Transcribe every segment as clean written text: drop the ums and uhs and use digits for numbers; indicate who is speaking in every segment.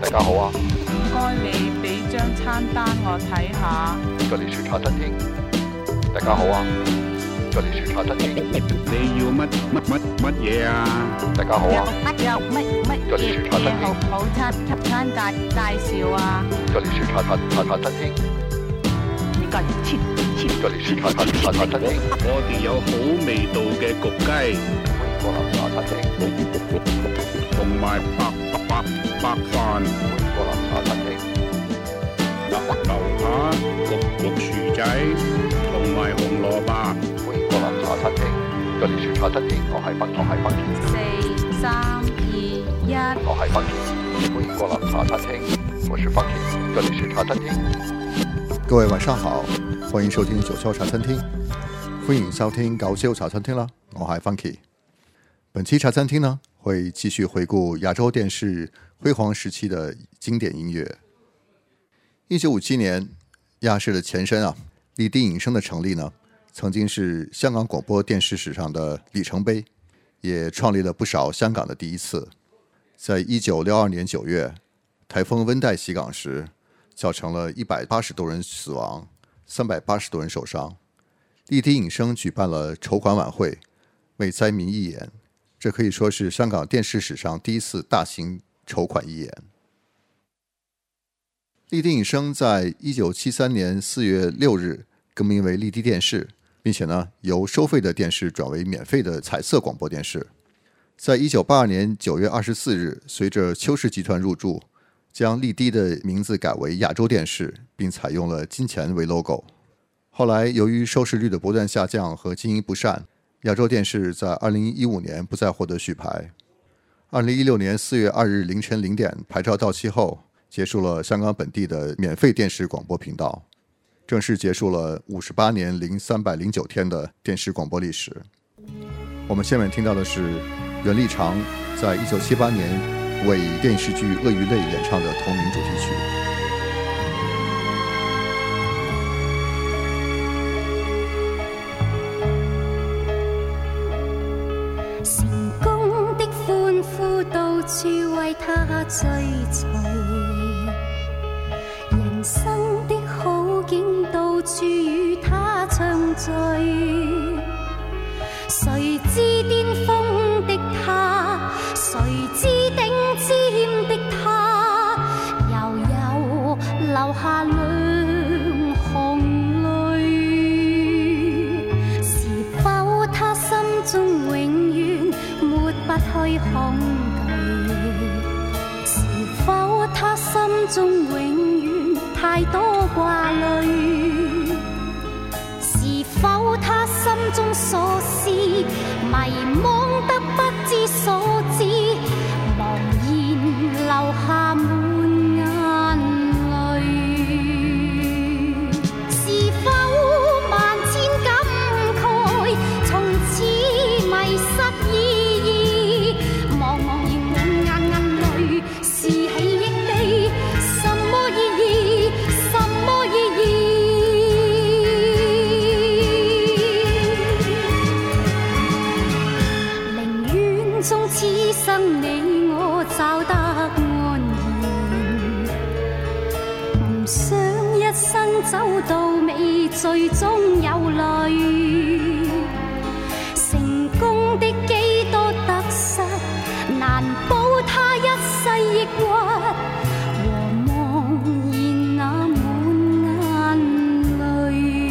Speaker 1: 大家好啊，
Speaker 2: 唔該你俾張餐單我睇下。
Speaker 1: 這裡是茶餐廳。大家好啊，這裡是茶餐廳。
Speaker 3: 你要乜嘢啊？
Speaker 1: 大家好啊，
Speaker 2: 有乜
Speaker 1: 這裡是茶餐廳。
Speaker 2: 好餐介紹啊？
Speaker 1: 這裡是茶餐廳。
Speaker 2: 呢個切。
Speaker 1: 這裡是茶餐廳。
Speaker 3: 我哋有好味道嘅焗雞，
Speaker 1: 歡迎光臨茶餐廳。
Speaker 3: 同埋白飯。
Speaker 1: 歡迎光臨茶餐廳。
Speaker 3: 樓下焗薯仔同埋紅蘿蔔。
Speaker 1: 歡迎光臨茶餐廳。這裡是茶餐廳，我係Funky。
Speaker 2: 4、3、2、1。
Speaker 1: 我係Funky。歡迎光臨茶餐廳，我是Funky。這裡是茶餐廳。各位晚上好，歡迎收聽九霄茶餐廳。歡迎收聽九霄茶餐廳啦，我係Funky。本期茶餐廳呢，會繼續回顧亞洲電視輝煌時期的經典音樂。1957年，亞視的前身麗的影聲的成立呢，曾經是香港廣播電視史上的里程碑，也創立了不少香港的第一次。在1962年9月，颱風溫帶襲港時，造成了180多人死亡，380多人受傷。麗的影聲舉辦了籌款晚會，為災民義演，這可以說是香港電視史上第一次大型籌款義演。麗的影聲在1973年4月6日更名為麗的電視，並且呢由收費的電視轉為免費的彩色廣播電視。在1982年9月24日，隨着邱氏集團入駐，將麗的的名字改為亞洲電視，並採用了金錢為 logo。後來由於收視率的不斷下降和經營不善，亞洲電視在2015年不再獲得續牌。2016年4月2日凌晨0點牌照到期後，結束了香港本地的免費電視廣播頻道，正式結束了58年零309天的電視廣播歷史。我們下面聽到的是袁立長在1978年為電視劇《鱷魚淚》演唱的同名主題曲。
Speaker 4: 成功的歡呼到處為他追隨，人生的好景到處與他暢聚，誰知巔峰的他，誰知頂尖的他，又有流下兩行淚，是否他心中永遠抹不去恐懼，是否他心中永遠太多掛慮，是否他心中所思迷惘得不知所指，茫然流下滿眼淚，是否萬千感慨從此迷失意義，茫茫然滿眼眼淚，是喜憶的什麼意義，什麼意義，寧願終此生你我找得安然，唔想一生走到尾最終有淚，成功的幾多得失難保他一世抑鬱，和茫然那滿眼淚。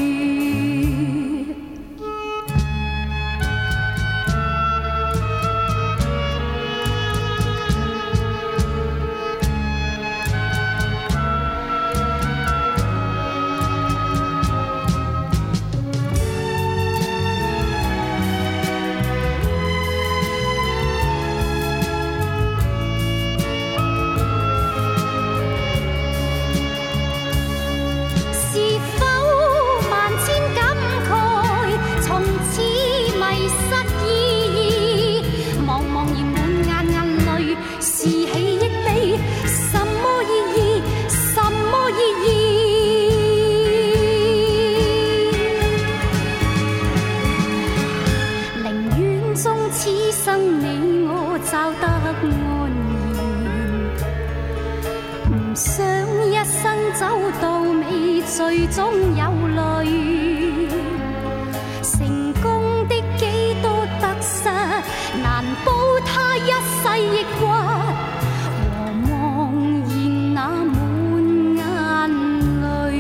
Speaker 4: 想一生走到尾，最终有淚。成功的幾多得失，難保他一世抑鬱，和茫然那滿眼淚。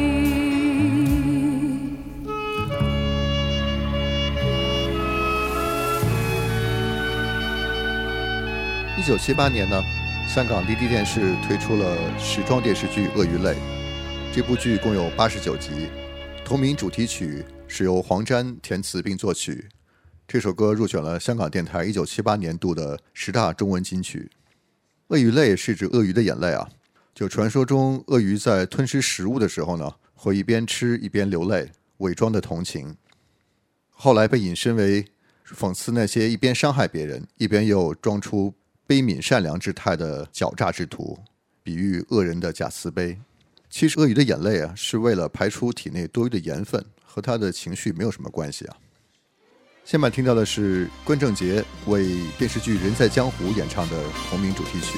Speaker 1: 1978年呢，香港离地电视推出了时装电视剧《鳄鱼泪》，这部剧共有89集，同名主题曲是由黄沾填词并作曲。这首歌入选了香港电台1978年度的10大中文金曲。鳄鱼泪是指鳄鱼的眼泪啊，就传说中鳄鱼在吞噬食物的时候呢，会一边吃一边流泪，伪装的同情。后来被引申为讽刺那些一边伤害别人，一边又装出悲悯善良之态的狡诈之徒，比喻恶人的假慈悲。其实鳄鱼的眼泪啊，是为了排出体内多余的盐分，和他的情绪没有什么关系啊。下面听到的是关正杰为电视剧《人在江湖》演唱的同名主题曲。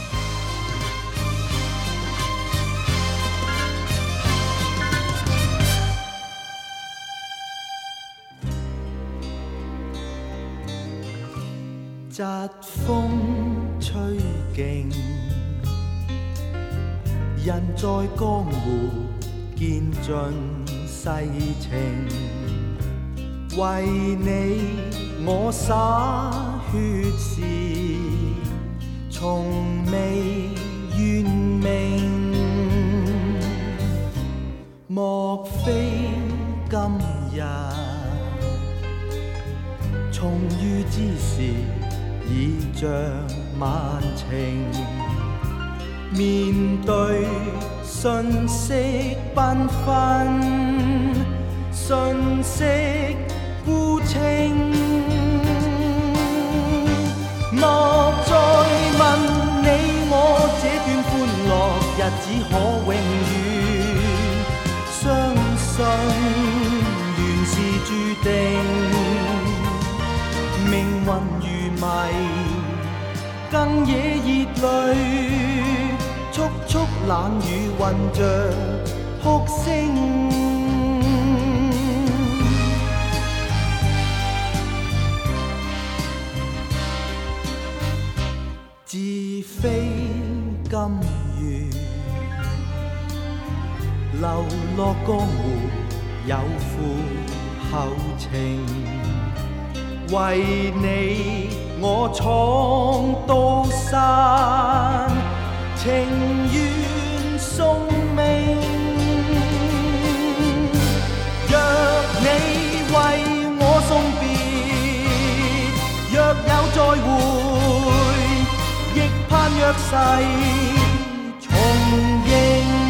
Speaker 5: 疾風吹勁，人在江湖見盡世情，為你我灑血誓，從未怨命，莫非今日重遇之時已像萬情，面對瞬息繽紛，瞬息孤清，莫再問你我這段歡樂日子可永遠，相信緣是注定，命運如迷，更野熱淚，速速冷雨混着哭聲，自非甘願流落江湖有負後情，為你我闖刀山，情願送命。若你為我送別，若有再會，亦盼約誓重應。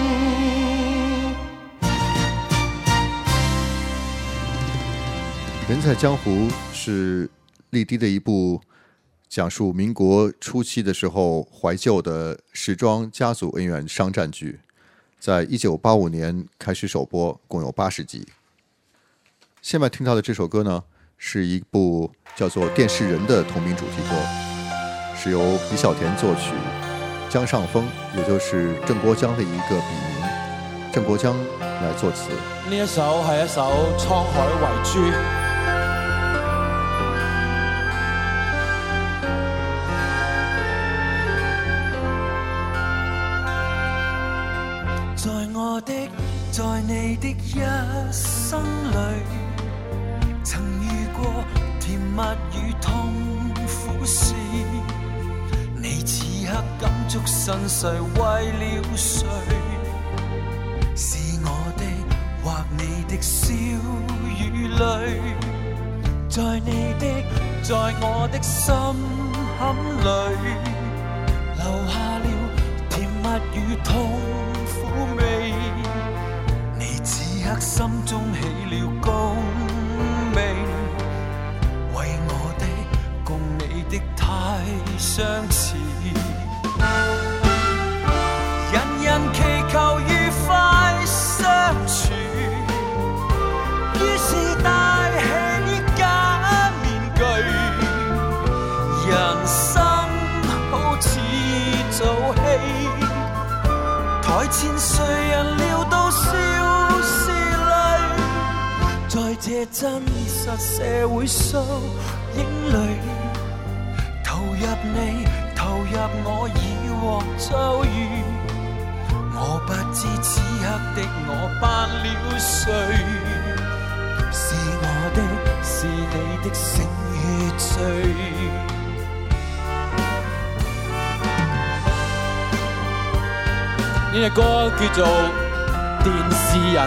Speaker 1: 人在江湖是立迪的一部讲述民国初期的时候怀旧的时装家族恩怨商战剧，在1985年开始首播，共有80集。现在听到的这首歌呢，是一部叫做《电视人》的同名主题歌，是由李小田作曲，江上峰也就是郑国江的一个笔名郑国江来作词。
Speaker 6: 呢一首係一首滄海遺珠，在你的一生裏，曾遇過甜蜜與痛苦事，你此刻感觸身世為了誰？是我的或你的笑與淚，在你的在我的心坎裏，留下了甜蜜與痛苦味。此刻心中起了共鳴，為我的共你的太相似，人人祈求愉快相處，於是戴起假面具，人生好似做戲， 台前谁人料到笑是泪，在这真实社会缩影里，投入你，投入我已獲遭遇，我不知此刻的我扮了誰，是我的，是你的醒與醉。呢隻歌叫做《電視人》。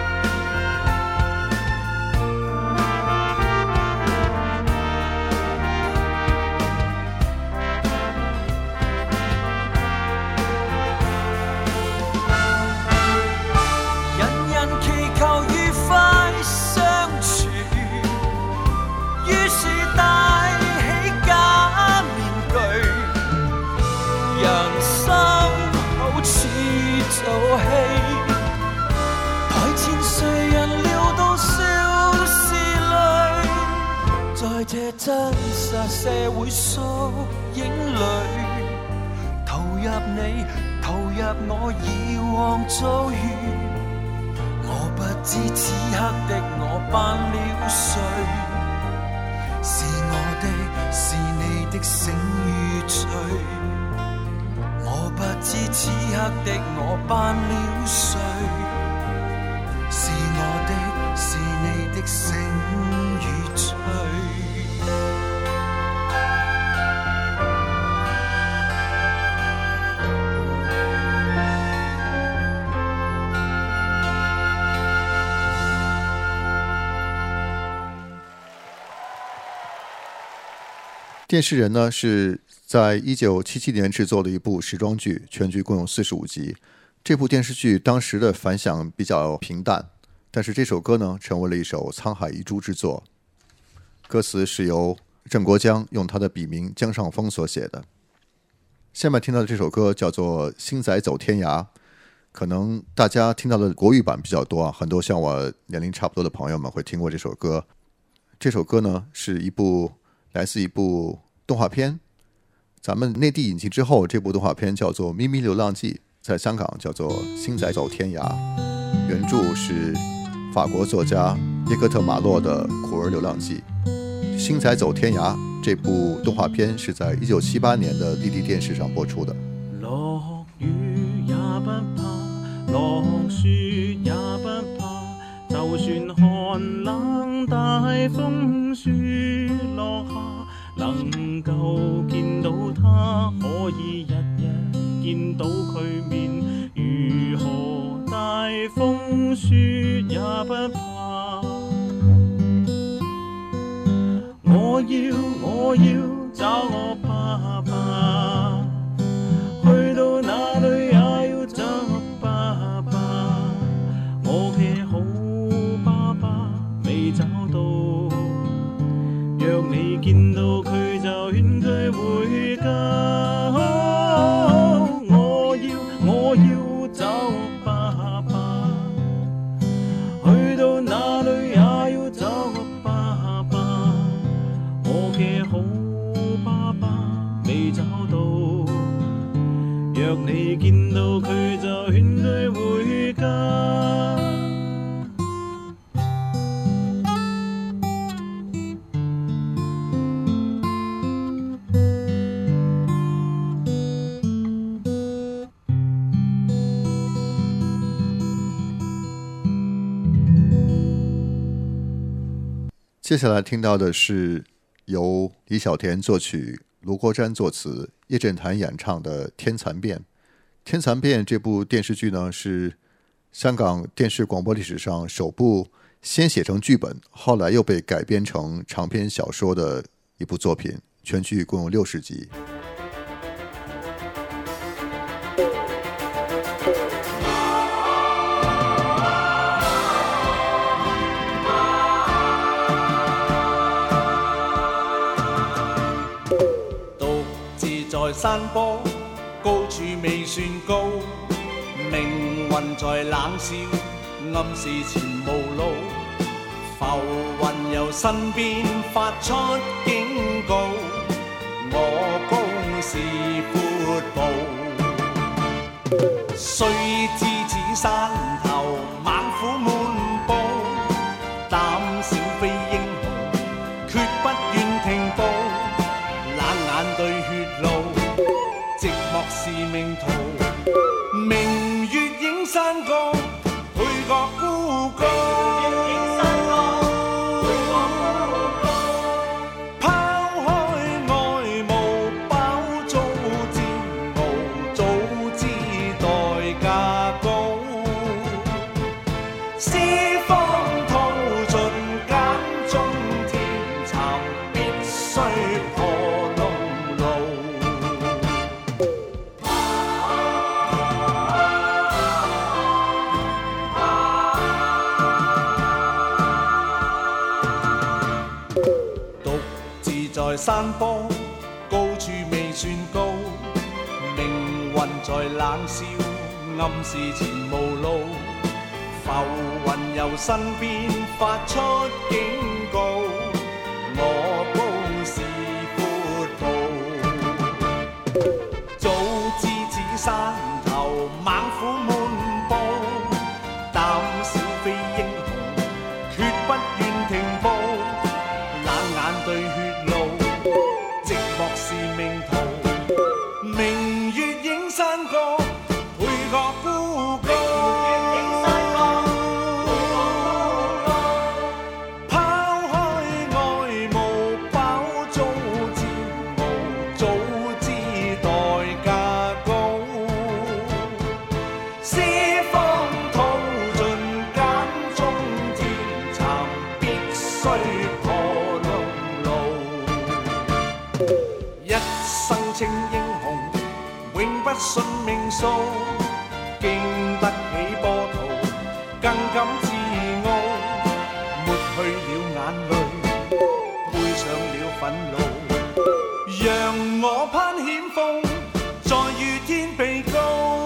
Speaker 6: 這真實社會縮影裏，投入你，投入我以往遭遇，我不知此刻的我扮了誰，是我的，是你的醒與醉，我不知此刻的我扮了誰，是我的，是你的醒與醉。
Speaker 1: 电视人呢是在1977年制作的一部时装剧，全剧共有45集。这部电视剧当时的反响比较平淡，但是这首歌呢成为了一首沧海遗珠之作。歌词是由郑国江用他的笔名江上峰所写的。下面听到的这首歌叫做《星仔走天涯》，可能大家听到的国语版比较多啊，很多像我年龄差不多的朋友们会听过这首歌。这首歌呢是来自一部动画片，咱们内地引进之后，这部动画片叫做《咪咪流浪记》，在香港叫做《星仔走天涯》，原著是法国作家耶克特马洛的《苦儿流浪记》。《星仔走天涯》这部动画片是在1978年的立地电视上播出的。
Speaker 5: 落雨也不怕，落雪也不怕，就算寒冷大風雪落下，能夠見到他，可以日日見到佢面，如何大風雪也不怕。我要找我爸爸，去到哪裏也要找我爸爸，我嘅好爸爸未找到，若你見到佢就勸佢回家。我要找我爸爸，去到哪裏也要找我爸爸，我嘅好爸爸未找到，若你見到佢就勸佢回家。
Speaker 1: 接下来听到的是由李小田作曲、卢国詹作词、叶振棠演唱的《天蚕变》。《天蚕变》这部电视剧呢，是香港电视广播历史上首部先写成剧本，后来又被改编成长篇小说的一部作品，全剧共有60集。
Speaker 7: 在山坡高處未算高，命運在冷笑，暗示前無路，浮雲由身邊發出警告，我公是闊步。 雖知此山頭猛虎滿布，膽小非英雄，決不願停步。冷眼對血路，寂寞是命途。明月映山崗，配角孤高。山坡高處未算高，命運在冷笑，暗示前無路。浮雲由身邊發出警告，我高是闊步。早知此山頭猛虎滿布，膽小非英雄，決不願停步。冷眼對血路，寂寞是命途。明月映山崗，配角孤高。拋開愛慕，飽早知無，早知代價高。四方淘盡揀中天蠶，必須破龍路。一生稱英雄，永不信命數，經得起波濤，更感自傲。抹去了眼淚，背上了憤怒，讓我攀險峰，再遇天被高。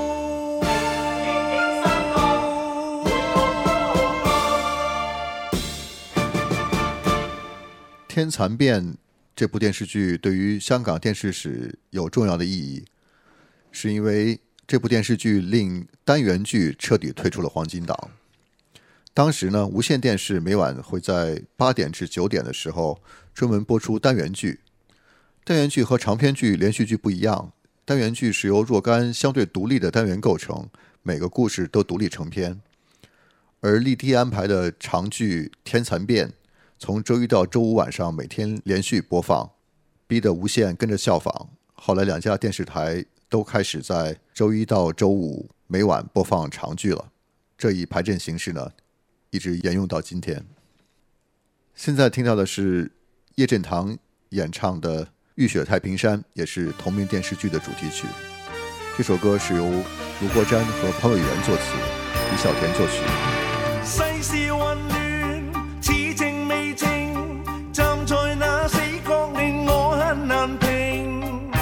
Speaker 1: 天蚕变这部电视剧对于香港电视史有重要的意义，是因为这部电视剧令单元剧彻底退出了黄金档。当时呢，无线电视每晚会在8点至9点的时候专门播出单元剧。单元剧和长篇剧、连续剧不一样，单元剧是由若干相对独立的单元构成，每个故事都独立成篇。而立地安排的长剧《天蚕变》从周一到周五晚上每天连续播放，逼得无线跟着效仿。后来2家电视台都开始在周一到周五每晚播放长剧了。这一排阵形式呢，一直沿用到今天。现在听到的是叶振棠演唱的《浴血太平山》，也是同名电视剧的主题曲。这首歌是由卢国詹和潘伟源作词，李小田作曲。
Speaker 7: 世事混亂，似靜未靜，站在那死角令我很難平。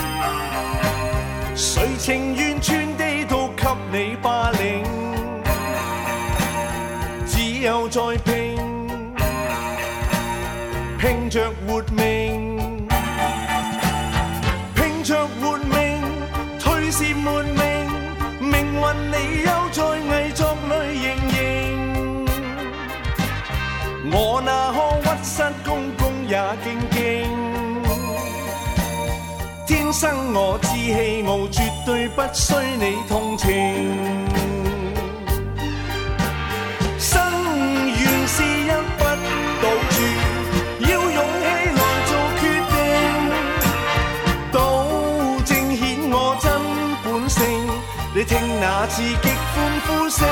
Speaker 7: 誰情願全地都給你霸凌，只有在拼着活命，拼着活命，退是沒命，命運你又在偽作裏盈盈。我那可屈膝恭恭也敬敬，天生我志氣傲，絕對不需你同情。生緣是一筆賭注，要勇氣來做決定，賭正顯我真本性，你聽那刺激歡呼聲。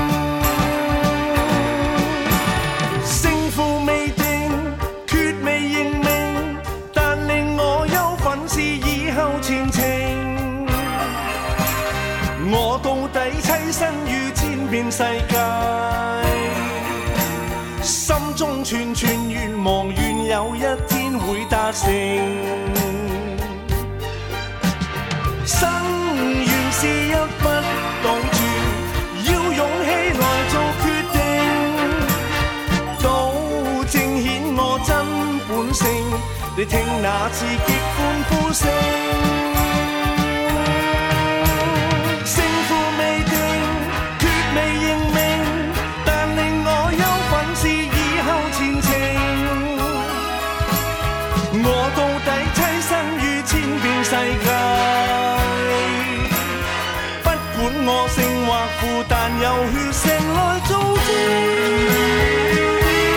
Speaker 7: 勝負未定，決未認命，但令我憂憤是以後前程。我到底棲身於千遍世界，心中串串願望，願有一天會達成。生緣是一筆賭注，要勇氣來做決定，賭正顯我真本性，你聽那刺激歡呼聲。勝負我勝或負，但有血性來做證。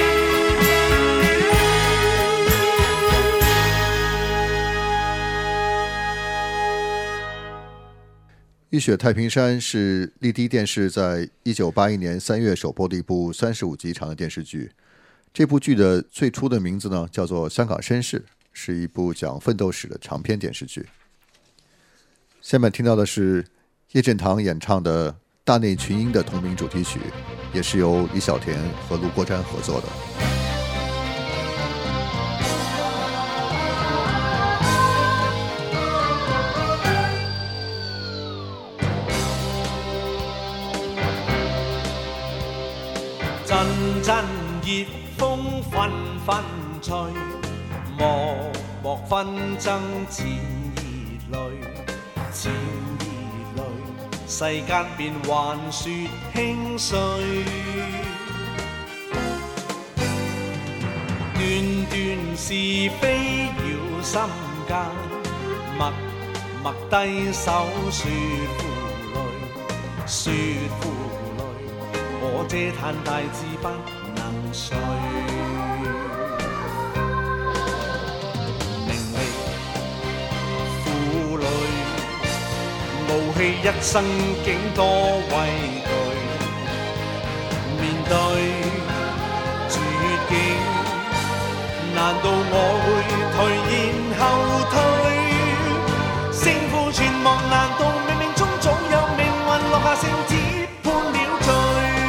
Speaker 1: 浴血太平山是丽的电视在1981年3月首播的一部35集长的电视剧。这部剧的最初的名字呢，叫做《香港绅士》，是一部讲奋斗史的长篇电视剧。下面听到的是叶振棠演唱的《大内群英》的同名主题曲，也是由李小田和卢国詹合作的。
Speaker 7: 陣陣熱風紛紛吹，漠漠紛爭濺熱淚，濺熱淚，世間變幻雪輕碎。段段是非繞心間，默默低手說負累，說負累。我這嘆大志不能遂，名利負累，傲氣一生竟多畏懼，面對絕境，難道我會退然後退？勝負存亡，難道冥冥中早有命運落下聖旨判了罪？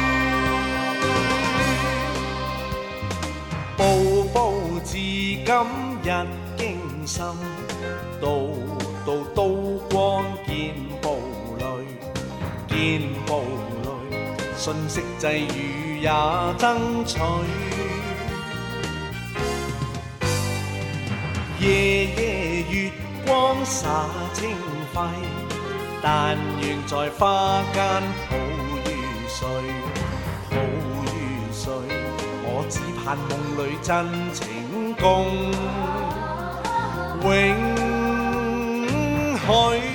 Speaker 7: 步步至今日驚心，道道刀光見暴戾，見暴戾，瞬息際遇也爭取。夜夜月光灑清輝，但願在花間抱於睡，抱於睡。我只盼夢裏真情共永許。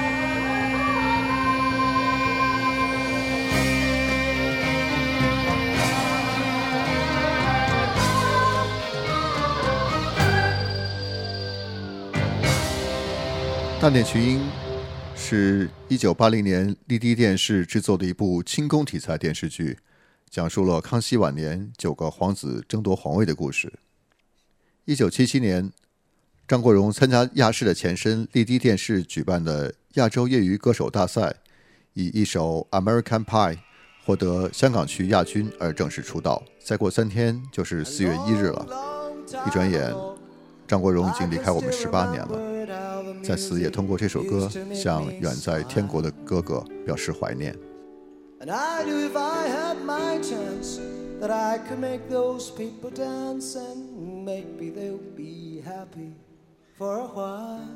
Speaker 1: 大内群英是1980年丽的电视制作的一部清宫题材电视剧，讲述了康熙晚年9个皇子争夺皇位的故事。1977年，张国荣参加亚视的前身丽的电视举办的亚洲业余歌手大赛，以一首 American Pie 获得香港区亚军而正式出道。再过3天就是4月1日了，一转眼张国荣已经离开我们18年了。在此也通过这首歌向远在天国的哥哥表示怀念。
Speaker 8: And I knew if I had my chance that I could make those people dance, and maybe they'll be happy for a while.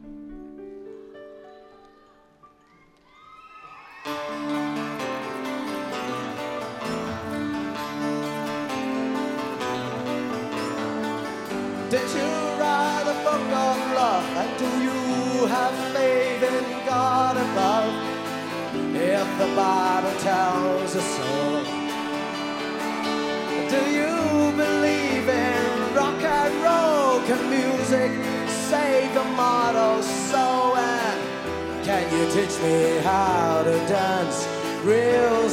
Speaker 8: Did you write a book on love, and do you have faith in God above? If the Bible tells us so, do you believe in rock and roll? Can music save a mortal soul? And can you teach me how to dance real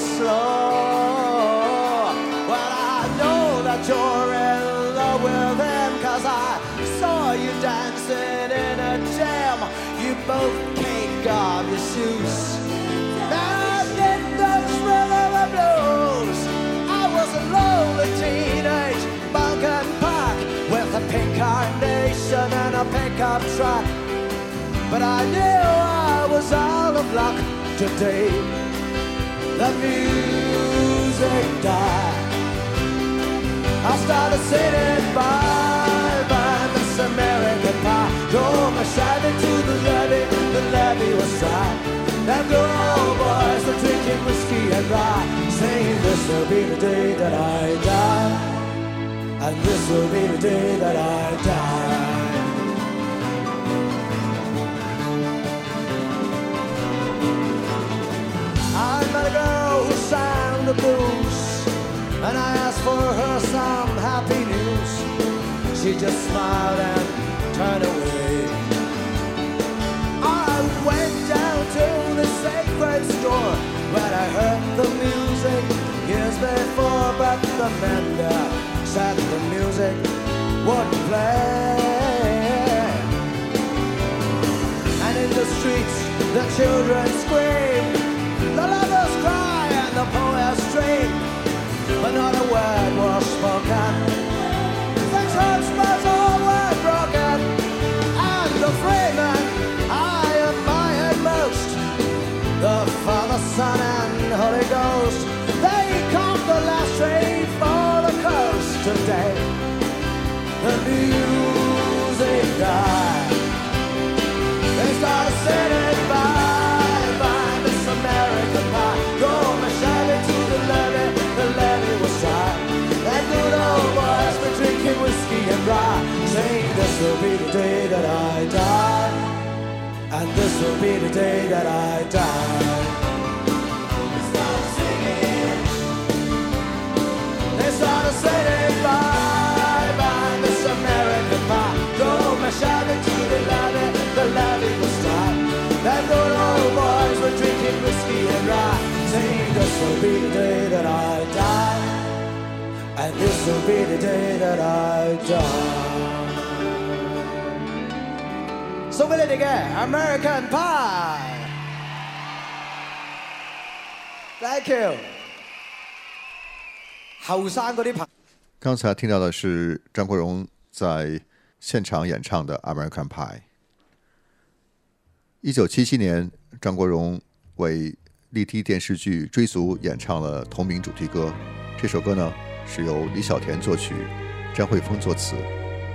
Speaker 8: slow? Well, I know that you're in love with him, 'cause I saw you dancing in a jam. You both kick off your shoes and in those rhythm and blues. I was a lonely teenage punk and pack with a pink carnation and a pickup truck, but I knew I was out of luck today. The music died. I started singing bye bye Miss American Pie. Drove my Chevy to the levee was dry. And the old boys were drinking whiskey and rye, saying this will be the day that I die, and this will be the day that I die. the blues, and I asked for her some happy news. She just smiled and turned away. I went down to the sacred store where I heard the music years before, but the man there said the music wouldn't play. And in the streets the children scream, the lovers cry and the poets dream, but not a word was spoken. The church bells all were broken, and the free men I admired most, the Father, Son and Holy Ghost, they caught the last train for the coast. Today the music died. They started singing bye bye Miss American Pie. Go my Chevy to the levee was dry. And good old boys were drinking whiskey and rye, saying this will be the day that I die, and this will be the day that I die. They started singing, they started singing bye bye Miss American Pie. Go my Chevy to the levee was dry. That good old boys were drinking whiskey and rye, saying this will be the day that I die, and this will be the day that I die. So will it again, American Pie. Thank you. 後生嗰啲朋友，
Speaker 1: 刚才听到的是张国荣在现场演唱的《American Pie》。1977年，张国荣为立体电视剧《追逐》演唱了同名主题歌。这首歌呢，是由李小田作曲，张惠峰作词。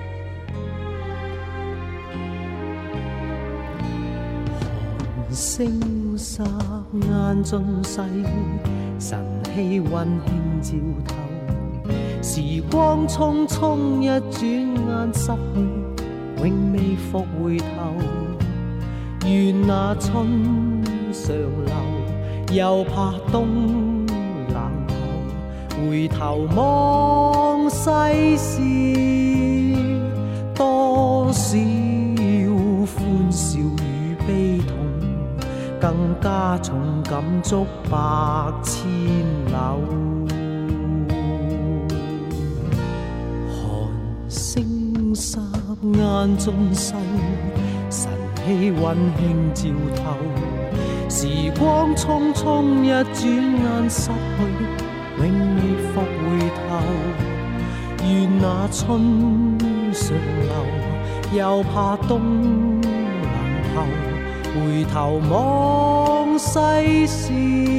Speaker 5: 寒星霎眼盡逝，晨曦溫馨照透。時光匆匆一轉眼失去，永未復回頭。願那春常留，又怕冬冷透。回頭望世事，多少歡笑與悲痛，更加重感觸百千縷。寒星霎眼盡逝，晨曦溫馨照透。時光匆匆一轉眼失去，永未復回頭。願那春常留，又怕冬冷透。回頭望世事，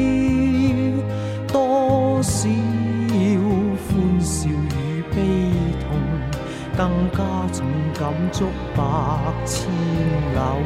Speaker 5: 多少歡笑與悲痛，更加重感觸百千縷。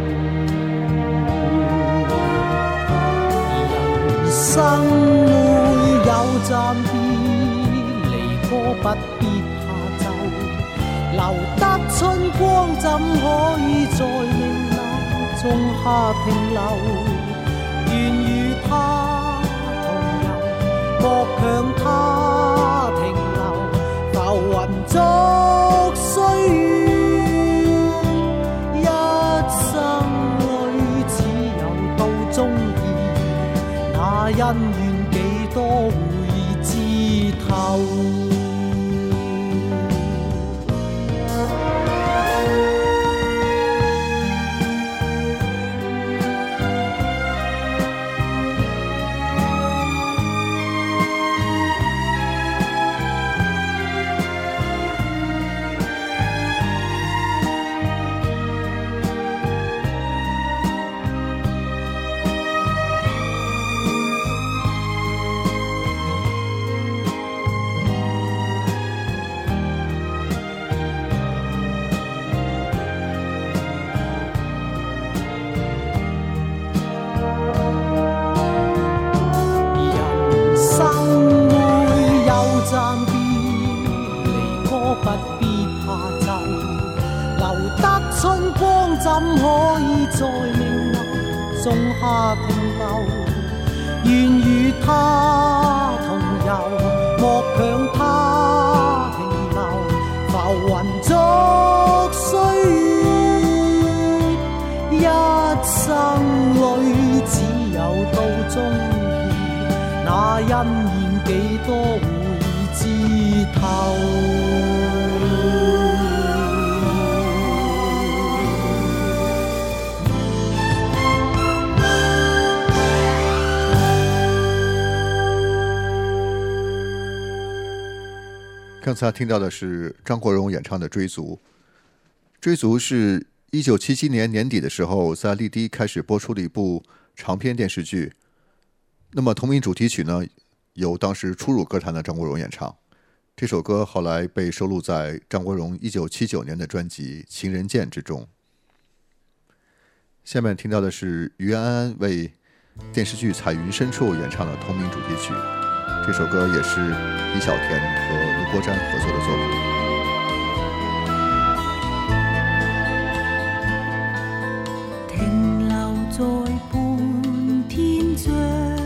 Speaker 5: 人生會有暫別，離歌不必怕皺，留得春光怎可以在命中下停留，願與他同遊，莫強他停留，浮雲逐歲月，一生裏只有到終結，那恩怨幾多會知透。怎可以在命中下停留？願與他同那欣然幾多會知透。
Speaker 1: 刚才听到的是张国荣演唱的《追逐》。追逐是1977年年底的时候在丽的开始播出的一部长篇电视剧。那么同名主题曲呢，由当时初入歌坛的张国荣演唱。这首歌后来被收录在张国荣1979年的专辑《情人剑》之中。下面听到的是于安安为电视剧《彩云深处》演唱的同名主题曲。这首歌也是李小田和卢国沾合作的作品。
Speaker 9: 停留在半天張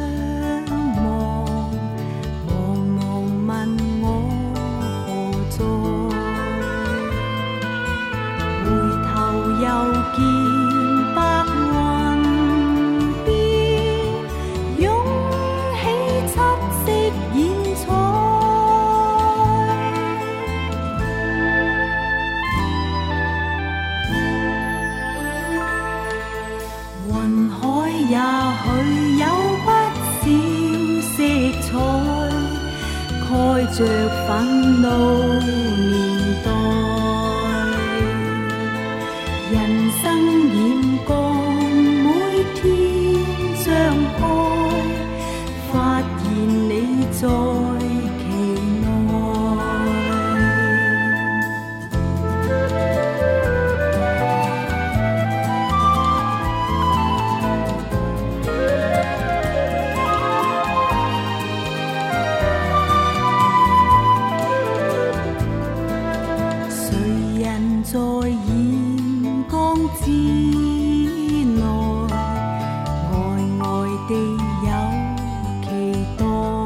Speaker 9: 望，茫茫問我何在？回頭又見白雲邊湧起七色演彩，雲海也許有不少色彩，蓋着憤怒年代。人生染光，每天張開，發現你在其內。誰人在眼光之內，呆呆地有期待，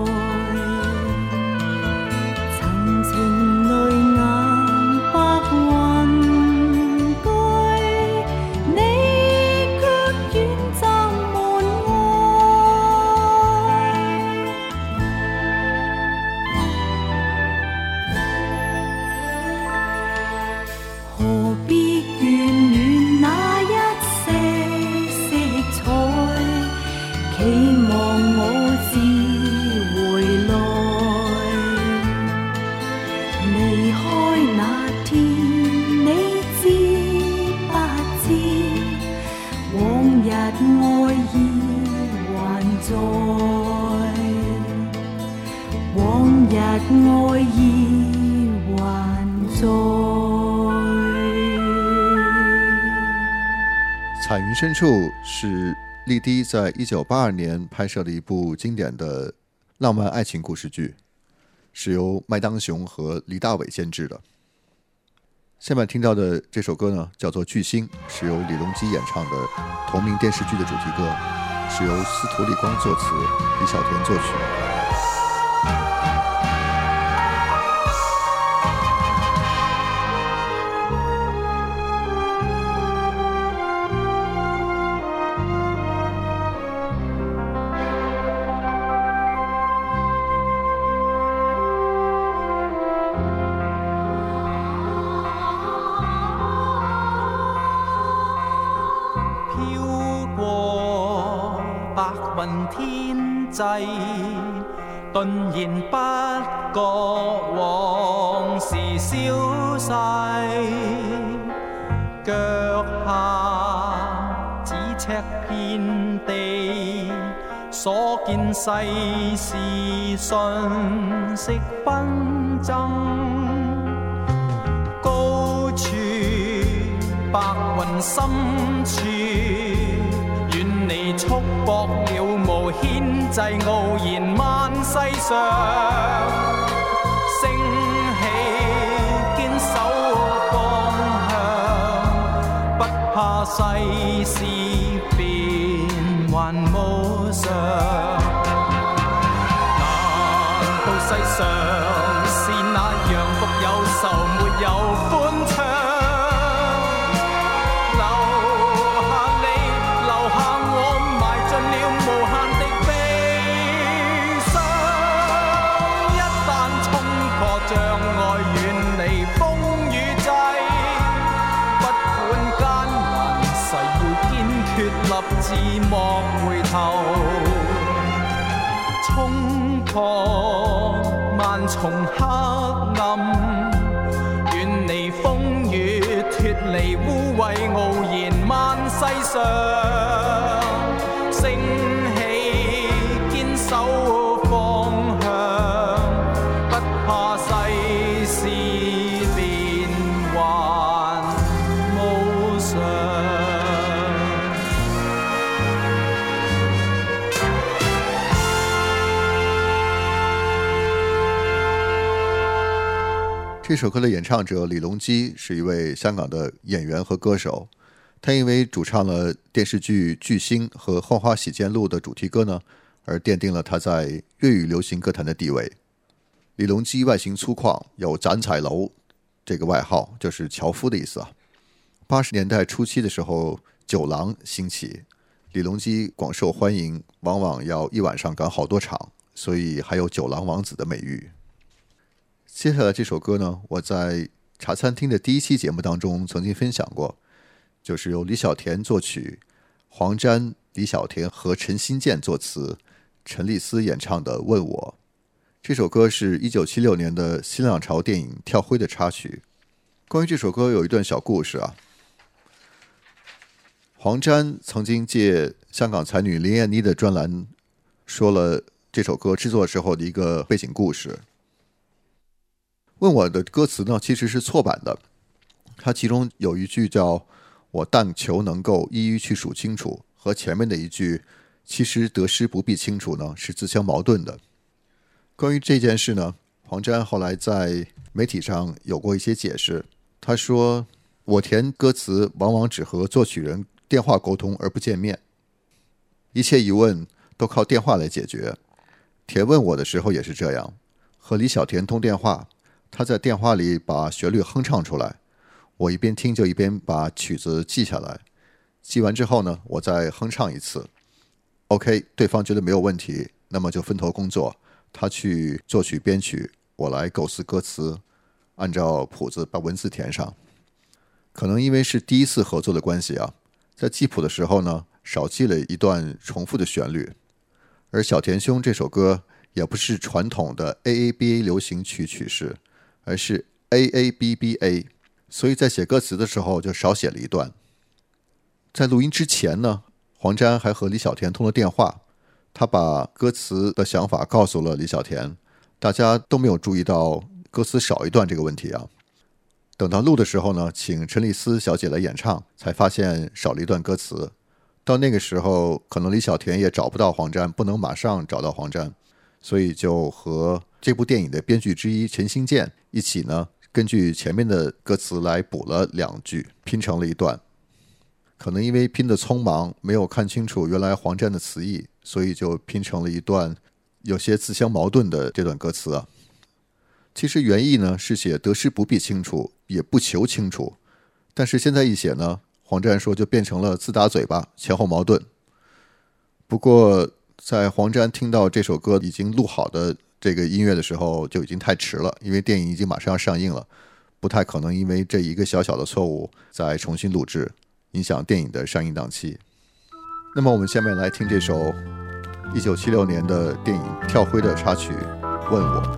Speaker 9: 曾情淚眼白雲居，你卻遠走門外。何必眷戀那一些色彩，期望我自回來。離開那天，你知不知，往日愛意還在，往日愛意還在。
Speaker 1: 彩云深处是丽的在1982年拍摄的一部经典的浪漫爱情故事剧，是由麦当雄和黎大伟监制的。下面听到的这首歌呢，叫做《巨星》，是由李隆基演唱的同名电视剧的主题歌，是由司徒立光作词，李小田作曲。
Speaker 5: 飄過白雲天際，頓然不覺往事消逝，腳下咫尺遍地，所見世事瞬息紛爭，高處白雲深處，遠離束縛了無牽制，傲然萬世上，升起堅守方向，不怕世事變幻無常。難道世上是那樣獨有愁沒有歡暢？留下我埋盡了無限的悲傷。
Speaker 6: 自莫回頭，衝破萬重黑暗，遠離風雨，脫離污穢，傲然萬世上，升起堅守方向，不怕世事變幻無常。
Speaker 1: 这首歌的演唱者李隆基是一位香港的演员和歌手，他因为主唱了电视剧《巨星》和《浣花洗肩录》的主题歌呢，而奠定了他在粤语流行歌坛的地位。李隆基外形粗犷，有斩彩楼这个外号，就是樵夫的意思啊。80年代初期的时候，酒廊兴起，李隆基广受欢迎，往往要一晚上赶好多场，所以还有酒廊王子的美誉。接下来这首歌呢，我在茶餐厅的第一期节目当中曾经分享过，就是由李小田作曲，黄沾、李小田和陈新建作词，陈丽斯演唱的《问我》。这首歌是1976年的新浪潮电影《跳灰》的插曲。关于这首歌有一段小故事啊。黄沾曾经借香港才女林燕妮的专栏说了这首歌制作时候的一个背景故事。问我的歌词呢，其实是错版的，它其中有一句叫我但求能够一一去数清楚，和前面的一句其实得失不必清楚呢，是自相矛盾的。关于这件事呢，黄沾后来在媒体上有过一些解释。他说我填歌词往往只和作曲人电话沟通而不见面，一切疑问都靠电话来解决。填问我的时候也是这样，和李小田通电话，他在电话里把旋律哼唱出来，我一边听就一边把曲子记下来，记完之后呢，我再哼唱一次。 OK， 对方觉得没有问题，那么就分头工作，他去作曲编曲，我来构思歌词，按照谱子把文字填上。可能因为是第一次合作的关系啊，在记谱的时候呢，少记了一段重复的旋律。而小田兄这首歌也不是传统的 AABA 流行曲曲式，而是 AABBA， 所以在写歌词的时候就少写了一段。在录音之前呢，黄沾还和李小田通了电话，他把歌词的想法告诉了李小田，大家都没有注意到歌词少一段这个问题啊。等到录的时候呢，请陈丽斯小姐来演唱，才发现少了一段歌词。到那个时候，可能李小田也找不到黄沾，不能马上找到黄沾，所以就和这部电影的编剧之一陈新建一起呢，根据前面的歌词来补了2句，拼成了一段。可能因为拼得匆忙，没有看清楚原来黄沾的词意，所以就拼成了一段有些自相矛盾的这段歌词啊。其实原意呢是写得失不必清楚，也不求清楚，但是现在一写呢，黄沾说就变成了自打嘴巴，前后矛盾。不过在黄沾听到这首歌已经录好的这个音乐的时候，就已经太迟了，因为电影已经马上要上映了，不太可能因为这一个小小的错误再重新录制，影响电影的上映档期。那么我们下面来听这首1976年的电影《跳灰》的插曲《问我》。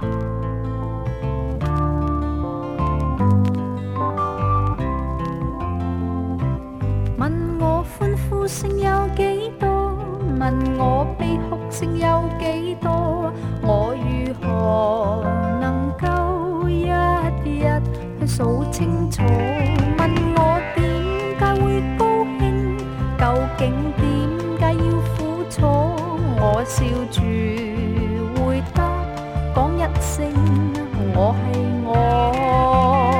Speaker 9: 問我歡呼聲有幾多？問我悲哭聲有幾多？我如何能夠一一去數清楚？問我點解會高興？究竟點解要苦楚？我笑住回答，講一聲我係我。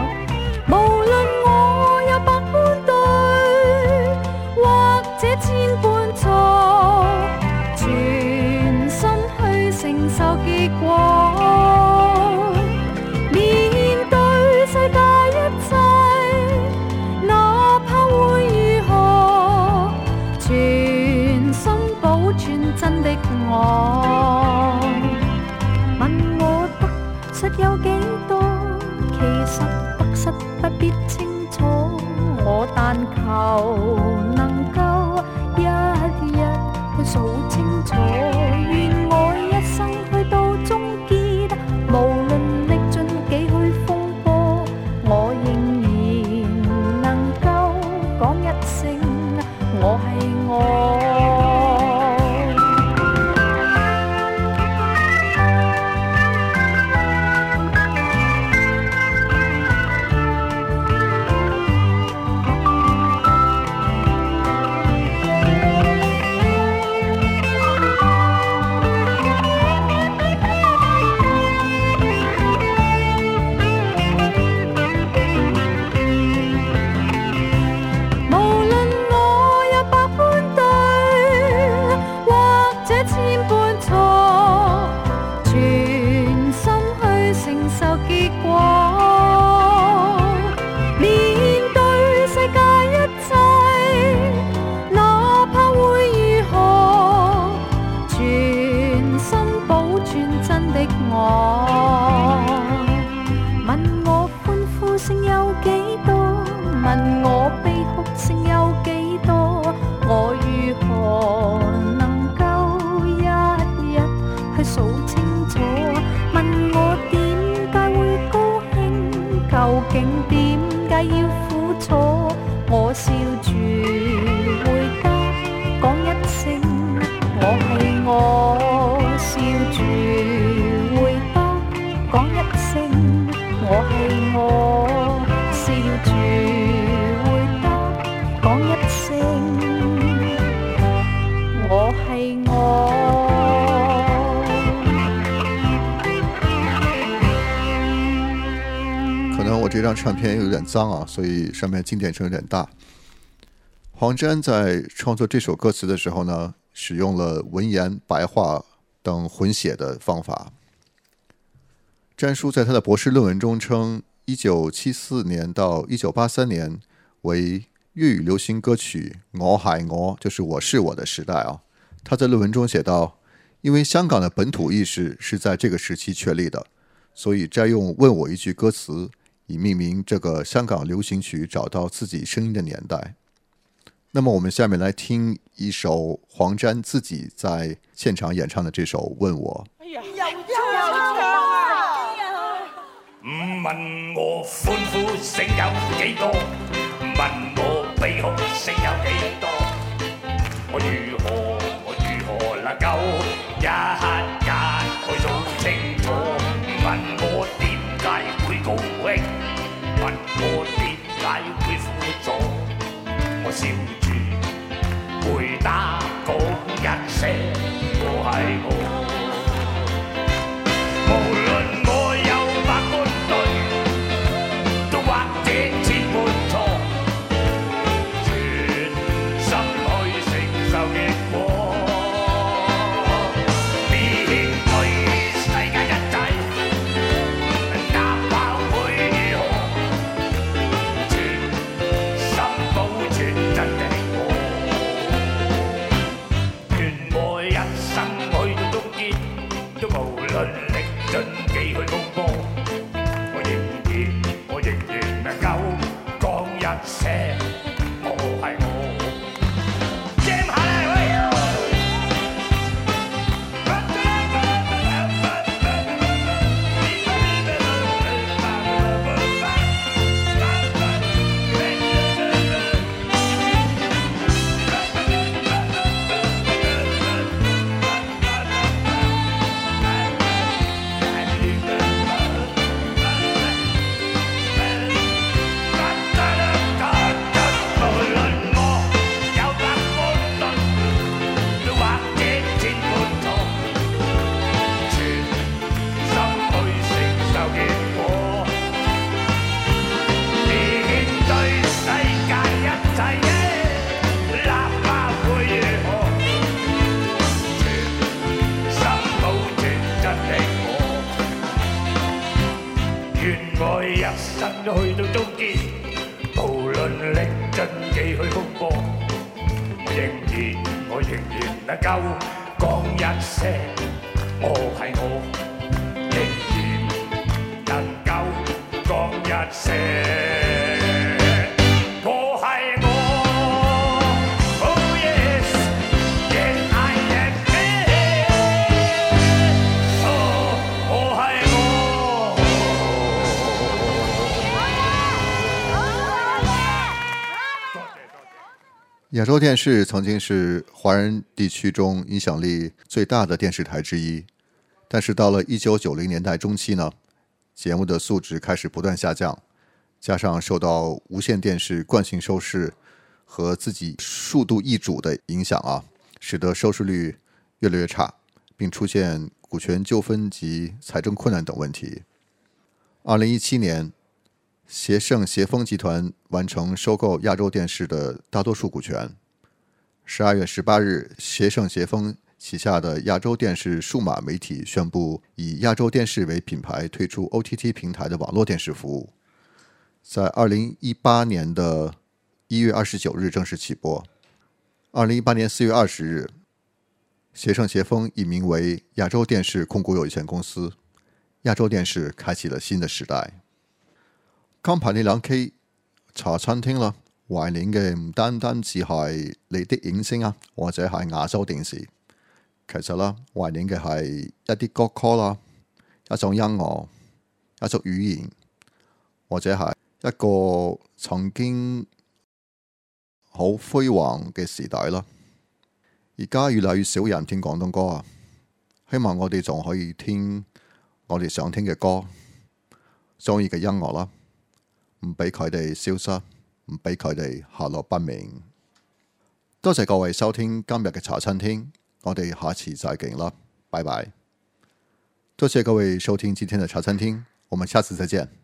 Speaker 9: 問我得失有幾多？其實得失不必清楚，我但求能夠一去數清楚，願我一生去到終結，無論歷盡幾許風波，我仍然能夠講一聲我係我。
Speaker 1: 这张唱片有点脏啊，所以上面经典声有点大。黄沾在创作这首歌词的时候呢，使用了文言、白话等混写的方法。詹叔在他的博士论文中称，1974年到1983年为粤语流行歌曲我係我，就是我是我的时代啊。他在论文中写道，因为香港的本土意识是在这个时期确立的，所以摘用问我一句歌词，以命名这个香港流行曲找到自己声音的年代。那么我们下面来听一首黄沾自己在现场演唱的这首《问我》。
Speaker 10: 哎呀，又唱啊！問我歡呼聲有幾多？問我悲哭聲有幾多？我如何能夠一眼去數清楚？問我點解會高興？問我點解會苦楚？我笑住回答講一聲我係我。無論我有百般對，都或者千般錯，全心去承受結果。面對世界一切，哪怕會如何，全心保存真的我。願我一生去到終結，都無論歷盡幾許風波，我仍然能夠講一聲我係我。Jam下嚟喂！去到終結，無論歷盡幾許風波，我仍然能夠講一聲我係我，仍然能夠講一聲。我係我 ，Oh yes, yes I
Speaker 1: 亚洲电视曾经是华人地区中影响力最大的电视台之一，但是到了1990年代中期呢，节目的素质开始不断下降，加上受到无线电视惯性收视和自己数度易主的影响啊，使得收视率越来越差，并出现股权纠纷及财政困难等问题。2017年，协盛协丰集团完成收购亚洲电视的大多数股权。12月18日，协盛协丰旗下的亚洲电视数码媒体宣布以亚洲电视为品牌推出 OTT 平台的网络电视服务，在2018年的1月29日正式起播。2018年4月20日，协盛协丰易名为亚洲电视控股有限公司，亚洲電視開啟了新的時代。今排呢兩期茶餐廳啦，懷念嘅唔單單只係你的影星啊，或者係亞洲電視，其實啦，懷念嘅係一啲歌曲啦，一種音樂，一種語言，或者係一個曾經好輝煌嘅時代啦。而家越嚟越少人聽廣東歌啊，希望我哋仲可以聽我哋想聽嘅歌，中意嘅音樂啦，唔俾佢哋消失，唔俾佢哋下落不明。多謝各位收聽今日嘅茶餐廳，我哋下次再見啦，拜拜。多謝各位收聽今天的茶餐廳，我們下次再見。